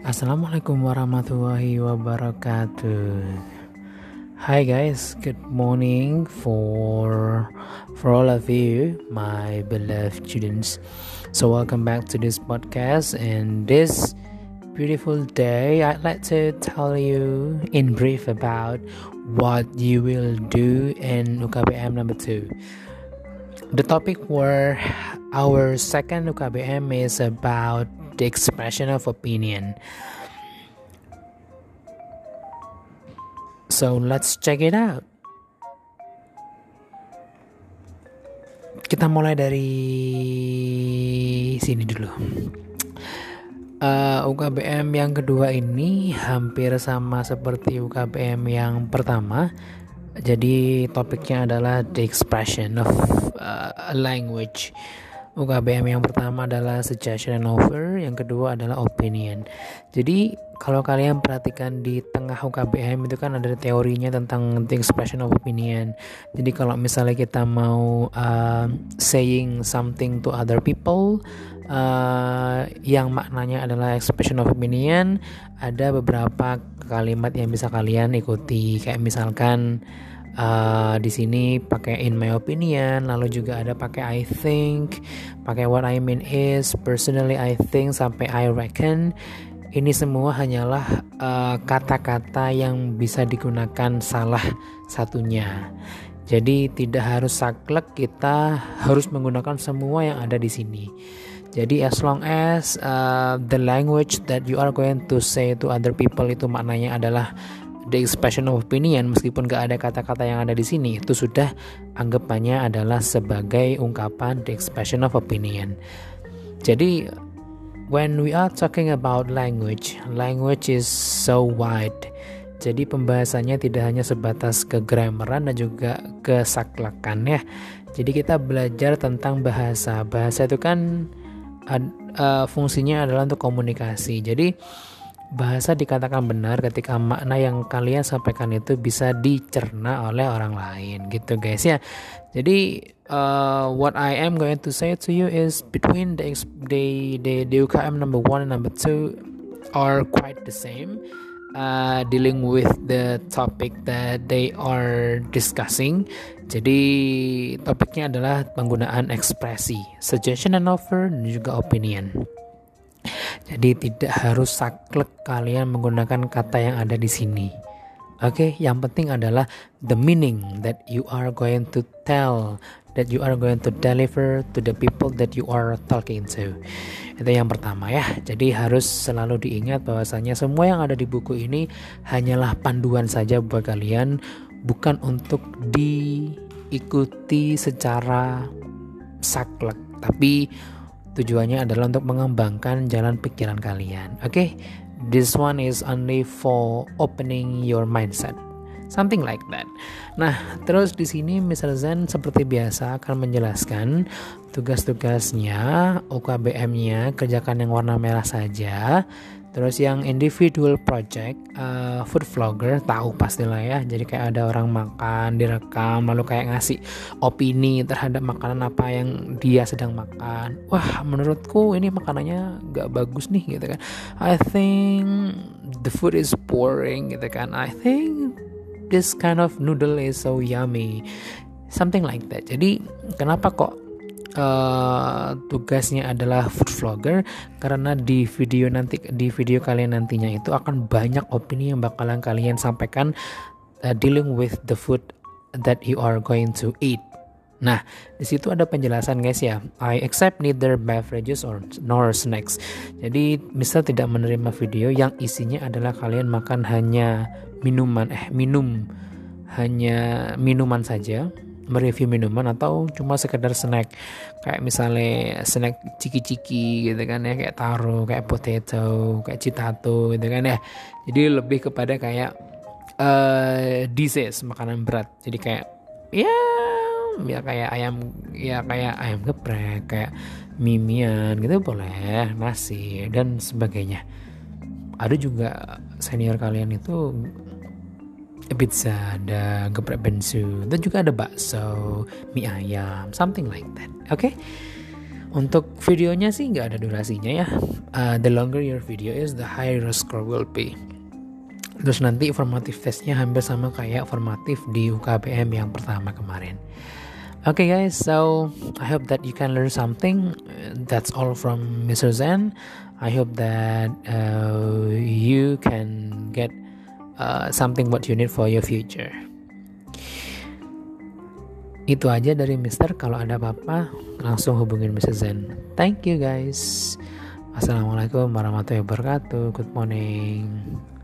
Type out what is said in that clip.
Assalamualaikum warahmatullahi wabarakatuh. Hi guys, good morning for all of you, my beloved students. So welcome back to this podcast, and this beautiful day I'd like to tell you in brief about what you will do in UKBM number 2. The topic for our second UKBM is about the expression of opinion. So let's check it out. Kita mulai dari sini dulu. UKBM yang kedua ini hampir sama seperti UKBM yang pertama. Jadi topiknya adalah the expression of language. UKBM yang pertama adalah suggestion and offer, yang kedua adalah opinion. Jadi kalau kalian perhatikan di tengah UKBM itu kan ada teorinya tentang the expression of opinion. Jadi kalau misalnya kita mau saying something to other people, yang maknanya adalah expression of opinion, ada beberapa kalimat yang bisa kalian ikuti. Kayak misalkan di sini pakai in my opinion, lalu juga ada pakai I think, pakai what I mean is, personally I think, sampai I reckon. Ini semua hanyalah kata-kata yang bisa digunakan salah satunya. Jadi tidak harus saklek, kita harus menggunakan semua yang ada di sini. Jadi as long as the language that you are going to say to other people itu maknanya adalah the expression of opinion, meskipun gak ada kata-kata yang ada di sini, itu sudah anggapannya adalah sebagai ungkapan the expression of opinion. Jadi when we are talking about language is so wide. Jadi pembahasannya tidak hanya sebatas kegramaran dan juga kesaklekan ya. Jadi kita belajar tentang bahasa. Bahasa itu kan fungsinya adalah untuk komunikasi. Jadi bahasa dikatakan benar ketika makna yang kalian sampaikan itu bisa dicerna oleh orang lain gitu guys ya. Jadi what I am going to say to you is between the UKM number 1 and number 2 are quite the same, dealing with the topic that they are discussing. Jadi topiknya adalah penggunaan ekspresi, suggestion and offer, dan juga opinion. Jadi tidak harus saklek kalian menggunakan kata yang ada di sini. Oke, yang penting adalah the meaning that you are going to tell, that you are going to deliver to the people that you are talking to. Itu yang pertama ya. Jadi harus selalu diingat bahwasanya semua yang ada di buku ini hanyalah panduan saja buat kalian, bukan untuk diikuti secara saklek, tapi tujuannya adalah untuk mengembangkan jalan pikiran kalian. Okay? This one is only for opening your mindset. Something like that. Nah, terus di sini Mr. Zen seperti biasa akan menjelaskan tugas-tugasnya, UKBM-nya, kerjakan yang warna merah saja. Terus yang individual project, food vlogger, tahu pastilah ya. Jadi kayak ada orang makan, direkam, lalu kayak ngasih opini terhadap makanan apa yang dia sedang makan. Wah, menurutku ini makanannya gak bagus nih gitu kan. I think the food is boring gitu kan. I think this kind of noodle is so yummy. Something like that. Jadi kenapa kok tugasnya adalah food vlogger? Karena di video kalian nantinya itu akan banyak opini yang bakalan kalian sampaikan dealing with the food that you are going to eat. Nah, di situ ada penjelasan guys ya. I accept neither beverages nor snacks. Jadi misal tidak menerima video yang isinya adalah kalian makan hanya minuman saja, mereview minuman, atau cuma sekedar snack kayak misalnya snack ciki-ciki gitu kan ya, kayak taro, kayak potato, kayak citato gitu kan ya. Jadi lebih kepada kayak dishes, makanan berat. Jadi kayak kayak ayam geprek, kayak mimian gitu boleh, nasi dan sebagainya. Ada juga senior kalian itu pizza, ada geprek bensu, dan juga ada bakso, mie ayam, something like that. Okay? Untuk videonya sih nggak ada durasinya ya. The longer your video is, the higher your score will be. Terus nanti formative testnya hampir sama kayak formatif di UKBM yang pertama kemarin. Okay guys, so I hope that you can learn something. That's all from Mr. Zen. I hope that you can get something what you need for your future. Itu aja dari Mister. Kalau ada apa-apa langsung hubungin Mr. Zen. Thank you guys. Assalamualaikum warahmatullahi wabarakatuh. Good morning.